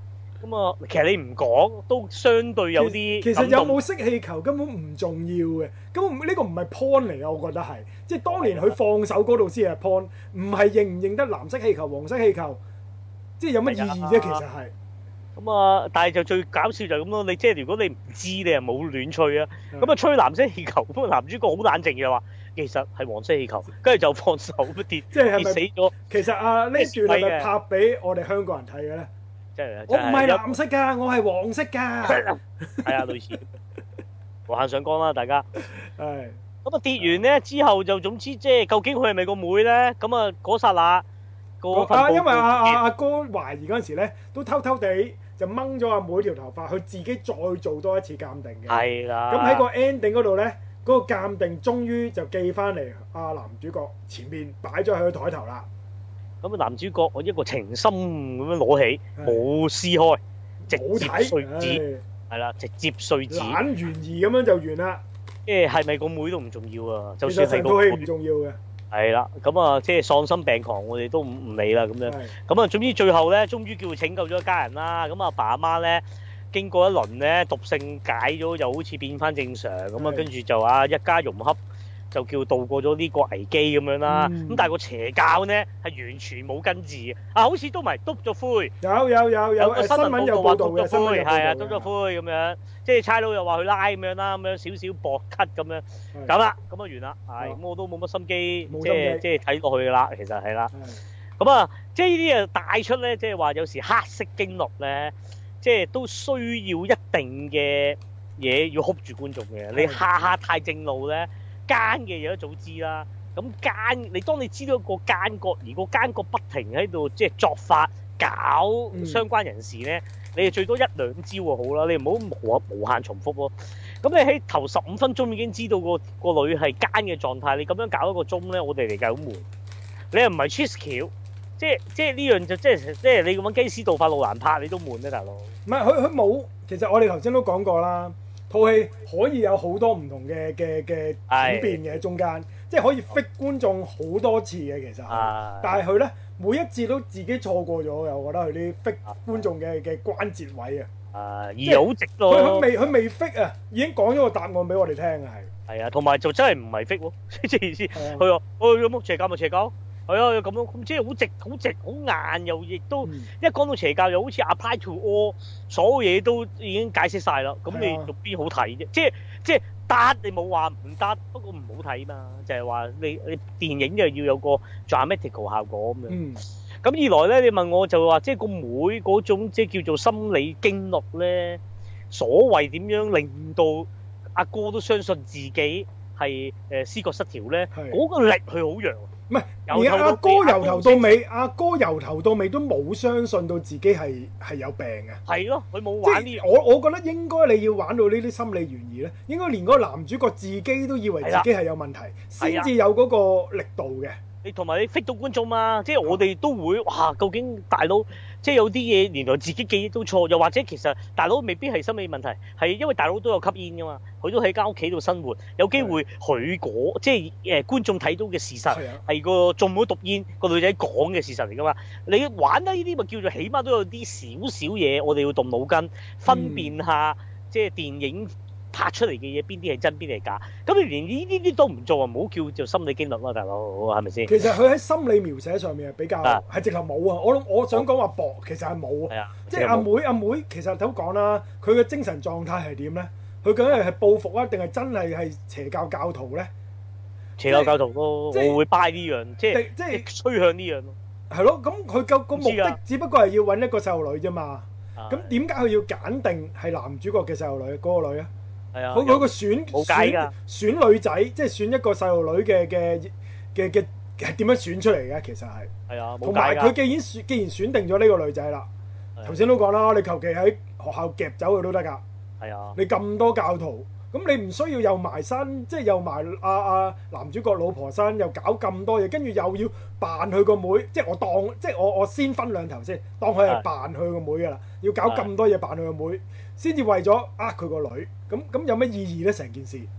咁啊，其實你唔講都相對有啲。 其實有冇識氣球根本唔重要嘅，根本呢個唔係 point 嚟嘅，我覺得係。即係當年佢放手嗰度先係 point，唔係認唔認得藍色氣球、黃色氣球，即係有乜意義啫？其實係。 咁啊，但係就最搞笑就係咁咯。你即係如果你唔知，你又冇亂吹啊。咁啊，吹藍色氣球，咁啊男主角好冷靜嘅話，其實係黃色氣球，跟住就放手跌， 即係跌死咗。 其實啊，呢段係咪拍俾我哋香港人睇嘅咧？ 即係我唔係藍色㗎，我係黃色㗎。 係啊，類似。無限上綱啦，大家。 係。 咁啊跌完咧之後就總之即係究竟佢係咪個妹咧？咁啊嗰剎那個啊，因為阿阿阿哥懷疑嗰陣時咧，都偷偷地就掹咗阿妹條頭髮，佢自己再做多一次鑑定嘅。 係啦。 咁喺個 ending 嗰度咧，嗰個鑑定終於就寄翻嚟阿男主角前面擺咗喺個台頭啦。 咁啊男主角我一個情深咁樣攞起，冇撕開，直接碎紙，係啦，直接碎紙。 懶懸疑咁樣就完啦。 即係係咪個妹都唔重要啊？就算係個妹唔重要嘅。係啦，咁啊，即係喪心病狂，我哋都唔唔理啦咁樣。咁啊，總之最後咧，終於叫拯救咗一家人啦。咁阿爸阿媽咧，經過一輪咧毒性解咗，又好似變翻正常。咁啊，跟住就啊一家融洽，就叫渡過咗呢個危機咁樣啦。咁、嗯、但係個邪教咧係完全冇根治嘅。啊，好似都唔係篤咗灰。 有有有有個新聞有報道嘅， 篤咗灰係啊，篤咗灰咁樣。即係差佬又話佢拉咁樣啦，咁樣少少薄咳咁樣，咁啦，咁啊完啦，係咁我都冇乜心機，即係即係睇落去啦，其實係啦。咁啊，即係呢啲啊帶出咧，即係話有時黑色經歷咧，即係都需要一定嘅嘢要 hold 住觀眾嘅。你下下太正路咧，奸嘅嘢都早知啦。咁奸，你當你知道個奸角，而個奸角不停喺度即係作法搞相關人士咧。嗯你哋最多一兩招就好啦，你唔好無無限重複咯。咁你喺頭十五分鐘已經知道個個女係奸嘅狀態，你咁樣搞一個鐘咧，我哋嚟計好悶。你又唔係 cheese 橋，即係即係呢樣就即係即係你咁樣基斯道法路蘭拍，你都悶咧，大佬。 唔係佢佢冇，其實我哋頭先都講過啦，套戲可以有好多唔同嘅嘅嘅轉變嘅中間，即係可以 fit 觀眾好多次嘅其實。但係佢咧。每一次都自己錯過咗嘅，我覺得佢啲 fit 觀眾嘅嘅關節位啊， 啊，而好直咯。 佢佢未佢未 fit 啊，已經講咗個答案俾我哋聽啊，係。 係啊，同埋就真係唔係 fit 喎，即係意思。佢話：我有冇邪教咪邪教？係啊，咁樣咁即係好直好直好硬，又亦都、嗯、一講到邪教又好似 apply to all，所有嘢都已經解釋晒啦。咁你讀邊好睇啫？即係即係。得你冇話唔得，不過唔好睇嘛，就係、是、話你你電影就要有個 dramatical 效果咁樣。咁、嗯、二來咧，你問我就話，即係個妹嗰種即係叫做心理經歷咧，所謂點樣令到阿哥都相信自己係誒思覺失調咧？嗰、那個力佢好弱。 唔係，而阿哥由頭到尾，阿哥由頭到尾都冇相信到自己係係有病嘅。係咯，佢冇玩呢。我我覺得應該你要玩到呢啲心理懸疑咧，應該連嗰個男主角自己都以為自己係有問題，先至有嗰個力度嘅。你同埋你 fit 到觀眾嘛，即係我哋都會哇，究竟大佬即係有啲嘢原來自己記憶都錯，又或者其實大佬未必係心理問題，係因為大佬都有吸煙噶嘛，佢都喺間屋企度生活，有機會佢嗰即係誒觀眾睇到嘅事實係個中咗毒煙個女仔講嘅事實嚟噶嘛，你玩得呢啲咪叫做起碼都有啲少少嘢，我哋要動腦筋分辨下，嗯、即係電影拍出嚟嘅嘢邊啲係真邊啲係假，咁你連呢啲都唔做啊，唔好叫做心理經歷啦，大佬係咪先？其實佢喺心理描寫上面係比較係直頭冇啊！我我想講話薄，其實係冇啊！即係阿妹阿妹，其實都講啦，佢嘅精神狀態係點咧？佢究竟係報復啊，定係真係係邪教教徒咧？邪教教徒咯，我會 buy 呢樣，即係即係趨向呢樣咯。係咯，咁佢個個目的只不過係要揾一個細路女啫嘛。咁點解佢要揀定係男主角嘅細路女嗰個女啊？係啊，佢佢個選選選女仔，即係選一個細路女嘅嘅嘅嘅係點樣選出嚟嘅？其實係係啊，同埋佢既然選既然選定咗呢個女仔啦，頭先都講啦，你求其喺學校夾走佢都得㗎。係啊，你咁多教徒，咁你唔需要又埋身，即係又埋阿阿男主角老婆身，又搞咁多嘢，跟住又要扮佢個妹，即係我當即係我我先分兩頭先，當佢係扮佢個妹㗎啦，要搞咁多嘢扮佢個妹，先至為咗呃佢個女。咁咁有咩意義咧？成件事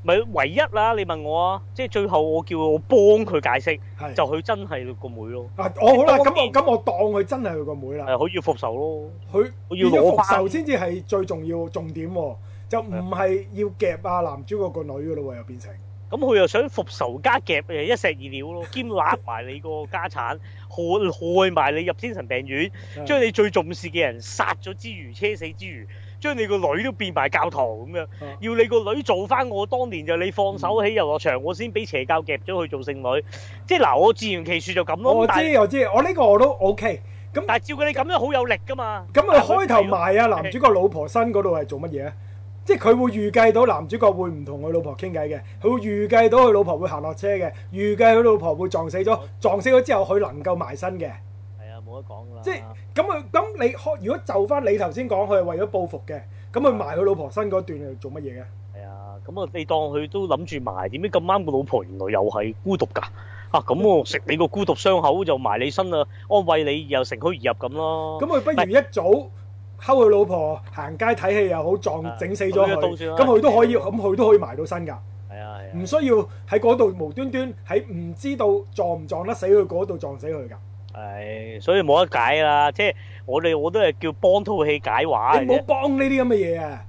咪唯一啦，你問我啊，即係最後我叫我幫佢解釋，就佢真係個妹咯。 啊，我好啦，咁我咁我當佢真係佢個妹啦。 係，佢要復仇咯。 佢要攞復仇先至係最重要重點喎，就唔係要夾啊男主角個女噶咯喎，又變成。 咁佢又想復仇加夾誒一石二鳥咯，兼揦埋你個家產，害害埋你入精神病院，將你最重視嘅人殺咗之餘，車死之餘。將你個女都變埋教徒咁樣，啊、要你個女做翻我當年就你放手喺遊樂場，嗯、我先俾邪教夾咗去做聖女，即係嗱我自圓其說就咁咯。我知我知，我呢個我都 OK。咁但係照佢你咁樣好有力噶嘛？咁佢開頭埋啊男主角老婆身嗰度係做乜嘢啊？即係佢會預計到男主角會唔同佢老婆傾偈嘅，佢會預計到佢老婆會行落車嘅，預計佢老婆會撞死咗，撞死咗之後佢能夠埋身嘅。冇得講㗎啦！即係咁佢咁你開，如果就翻你頭先講，佢係為咗報復嘅，咁佢埋佢老婆身嗰段係做乜嘢嘅？係啊，咁啊你當佢都諗住埋，點解咁啱個老婆原來又係孤獨㗎？啊咁我食你個孤獨傷口就埋你身啊，安慰你又乘虛而入咁咯。咁佢不如一早睺佢老婆行街睇戲又好，撞整死咗佢，咁佢都可以，咁佢都可以埋到身㗎。係啊係啊，唔需要喺嗰度無端端喺唔知道撞唔撞得死佢嗰度撞死佢㗎。係，所以冇得解啦，即係我哋我都係叫幫套戲解話。你唔好幫呢啲咁嘅嘢啊！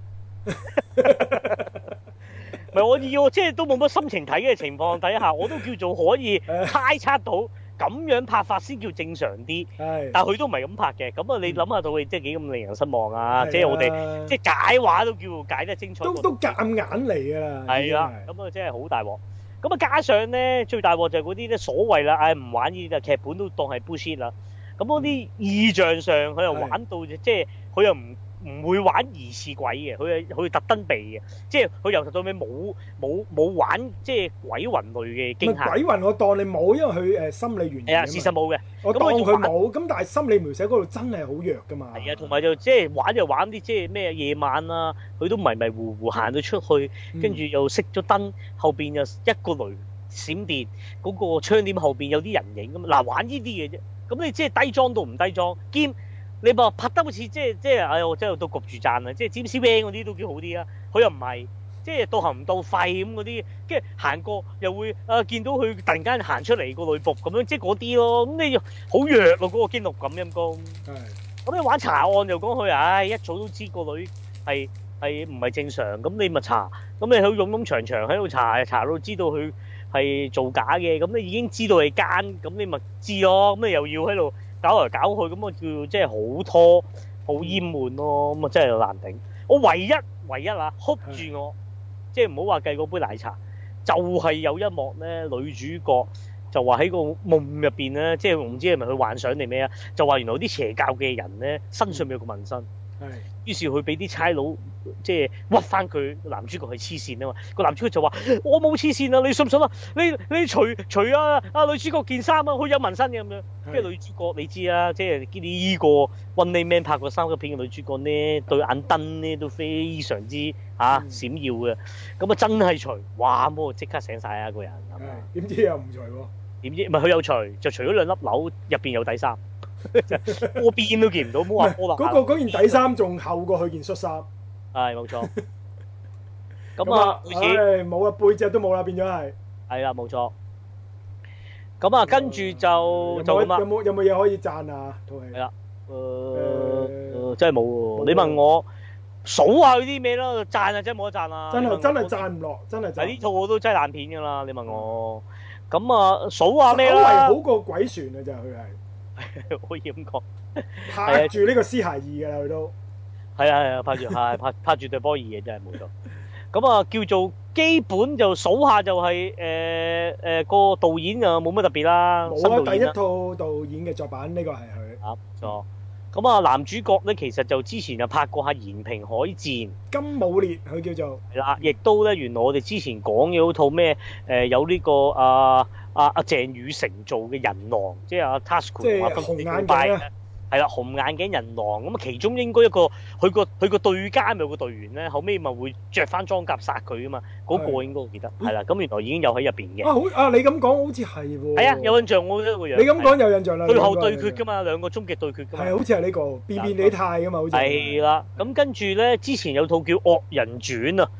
唔係我要，即係都冇乜心情睇嘅情況底下，我都叫做可以猜測到咁樣拍法先叫正常啲。係，但係佢都唔係咁拍嘅。咁啊，你諗下套戲即係幾咁令人失望啊！即係我哋即係解話都叫解得精彩。都都夾硬嚟㗎啦。係啊，咁啊真係好大鑊。咁啊，加上咧最大鑊就係嗰啲咧所謂啦，唉唔玩呢啲，劇本都當係 bullshit 啦。咁嗰啲意象上佢又玩到，即係佢又唔唔會玩疑似鬼嘅，佢係佢特登避嘅，即係佢由頭到尾冇冇冇玩即係鬼魂類嘅驚嚇。鬼魂我當你冇，因為佢誒心理原因。係啊，事實冇嘅。我當佢冇，咁但係心理描寫嗰度真係好弱噶嘛。係啊，同埋就即係玩就玩啲即係咩夜晚啊，佢都迷迷糊糊行到出去，跟住又熄咗燈，後邊又一個雷閃電，嗰個窗簾後邊有啲人影咁。嗱，玩呢啲嘢啫。咁你即係低裝到唔低裝，兼你話拍得好似即係即係，哎呀，我真係都焗住讚啊！即係 James Wan 嗰啲都幾好啲啊，佢又唔係即係到行唔到肺咁嗰啲，跟住行過又會啊見到佢突然間行出嚟個女僕咁樣，即係嗰啲咯。咁你好弱喎，嗰個驚悚感陰公。係。咁你玩查案又講佢，唉，一早都知個女係係唔係正常，咁你咪查，咁你喺勇勇長長喺度查，查到知道佢係造假嘅，咁你已經知道係奸，咁你咪知咯，咁你又要喺度搞嚟搞去，咁啊叫即係好拖，好厭悶咯，咁啊真係難頂。我唯一唯一啊，hold 住我，即係唔好話計嗰杯奶茶，就係有一幕咧，女主角就話喺個夢入邊咧，即係唔知係咪佢幻想定咩啊，就話原來啲邪教嘅人咧身上面有個紋身。係，於是佢俾啲差佬即係屈翻佢男主角係黐線啊嘛，個男主角就話：我冇黐線啊，你信唔信啊？你你除除啊啊女主角件衫啊，佢有紋身嘅咁樣。跟住女主角你知啊，即係呢個 One Day Man 拍過三級片嘅女主角呢，對眼燈呢都非常之嚇、啊、閃耀嘅。咁啊真係除，哇！咁我即刻醒晒啊個人。點知又唔除喎？點知唔係佢有除，就除咗兩粒紐，入邊有底衫。波邊都見唔到，冇話波啦。嗰個嗰件底衫仲厚過佢件恤衫。係冇錯。咁啊，唉，冇啊，背脊都冇啦，變咗係。係啦，冇錯。咁啊，跟住就就咁啦。有冇有冇嘢可以讚啊？套戲。係啦。誒，真係冇喎。你問我數下佢啲咩咯？讚啊，真係冇得讚啊！真係真係讚唔落，真係。嗱呢套我都真係爛片㗎啦！你問我。咁啊，數下咩啦？稍為好過鬼船啊！就係佢係。可以咁講，拍住呢個屍骸二嘅啦，佢都係啊係啊，拍住係拍拍住對波二嘅真係冇錯。咁啊叫做基本就數下就係誒誒個導演啊冇乜特別啦。冇啊，第一套導演嘅作品呢個係佢。啊，冇錯。咁啊男主角咧其實就之前就拍過下《延平海戰》。金武烈佢叫做。係啦，亦都咧原來我哋之前講嘅嗰套咩誒有呢個啊。阿阿鄭雨盛做嘅人狼，即係阿 Tasuku 同阿紅眼鏡啊，係啦，紅眼鏡人狼咁啊，其中應該一個佢個佢個對家咪有個隊員咧，後尾咪會着翻裝甲殺佢啊嘛，嗰個應該我記得係啦，咁原來已經有喺入邊嘅。啊好啊，你咁講好似係喎。係啊，有印象我覺得個樣。你咁講有印象啦。最後對決㗎嘛，兩個終極對決㗎嘛。係好似係呢個變變你態㗎嘛，好似。係啦，咁跟住咧，之前有套叫《惡人傳》啊。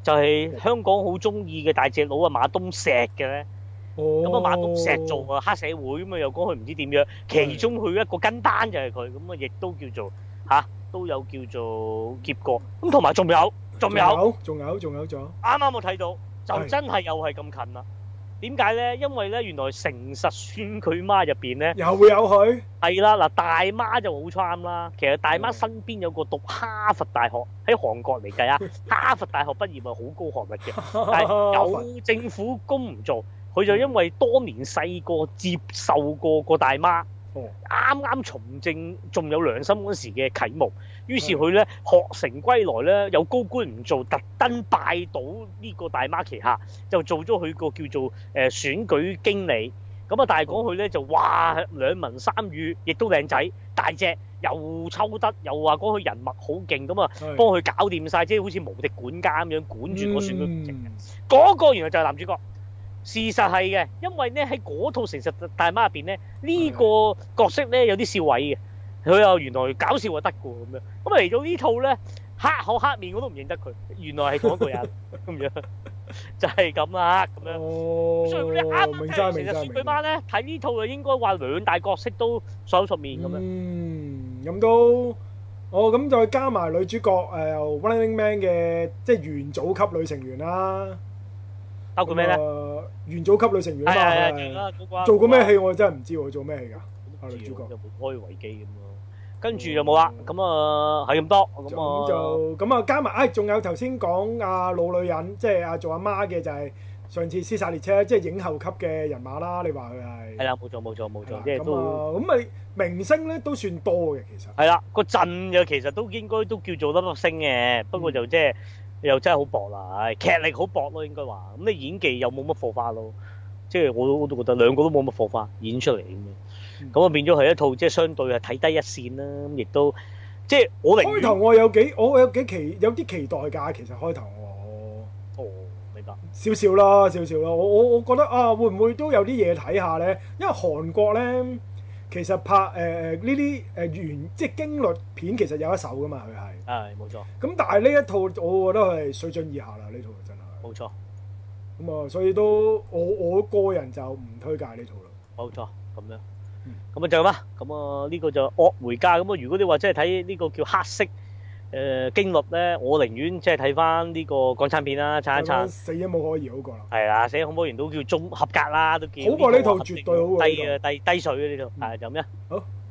就係香港好中意嘅大隻佬啊馬東石嘅咧。咁啊馬東石做啊黑社會咁啊，又講佢唔知點樣，其中佢一個跟單就係佢，咁啊亦都叫做嚇都有叫做劫過。咁同埋仲有仲有仲有仲有仲有， 啱啱我睇到就真係又係咁近啦。點解咧？因為咧原來誠實孫佢媽入邊咧又會有佢係啦。嗱，大媽就好 charm 啦。其實大媽身邊有個讀哈佛大學，喺韓國嚟計啊，哈佛大學畢業係好高學歷嘅，但係有政府工唔做，佢就因為多年細個接受過個大媽，啱啱從政仲有良心嗰時嘅啟蒙，於是佢咧學成歸來咧，有高官唔做，特登拜到呢個大媽旗下，就做咗佢個叫做誒、呃、選舉經理。咁啊，但係講佢咧就哇兩文三語，亦都靚仔大隻，又抽得，又話講佢人脈好勁，咁啊幫佢搞掂晒，即係好似無敵管家咁樣管住個選舉工程嘅。嗰、嗯、個原來就係男主角。事實係嘅，因為咧喺嗰套誠實大媽入邊咧，呢、這個角色咧有啲笑位嘅，佢又原來搞笑就得嘅咁樣。咁嚟到呢套咧，黑口黑面我都唔認得佢，原來係同一個人咁樣，就係咁啦咁樣。 哦， 所以你啱啱明誠實孫佢媽咧睇呢套就應該話兩大角色都熟口熟面咁樣。 嗯，咁都，哦咁再加埋女主角誒、呃、Running Man 嘅即係元祖級女成員啦。 包括咩咧？ 元祖級女成員啊嘛， 係啊， 做過咩戲我真係唔知喎，做咩戲㗎？女主角有冇開維基咁咯？跟住就冇啦。咁啊係咁多。咁啊就咁啊加埋，唉仲有頭先講阿老女人，即係阿做阿媽嘅就係上次《屍殺列車》，即係影后級嘅人馬啦。你話佢係？係啦，冇錯冇錯冇錯，即係都咁咪明星咧都算多嘅其實。係啦，個陣嘅其實都應該都叫做粒粒星嘅，不過就即係。又真係好薄啦，劇力好薄咯，應該話。咁你演技又冇乜火花咯，即係我都我都覺得兩個都冇乜火花演出嚟咁樣。咁啊變咗係一套即係相對係睇低一線啦，咁亦都即係我寧願開頭我有幾我有幾期有啲期待㗎，其實開頭我哦明白少少啦少少啦，我我我覺得啊會唔會都有啲嘢睇下咧？因為韓國咧其實拍誒呢啲誒原即係驚慄片其實有一手㗎嘛，佢係。係冇錯，咁但係呢一套我覺得係水準以下啦，呢套真係冇錯。咁啊，所以都我我個人就唔推介呢套啦。冇錯，咁樣，咁啊就咁啦。咁啊呢個就惡回家。咁啊如果你話真係睇呢個叫黑色誒驚慄咧，我寧願即係睇翻呢個港產片啦，撐一撐。死因冇可疑好過啦。係啦，死因恐怖片都叫中合格啦，都叫好過呢套絕對好過。低嘅低低水嘅呢套，係就咁樣。好。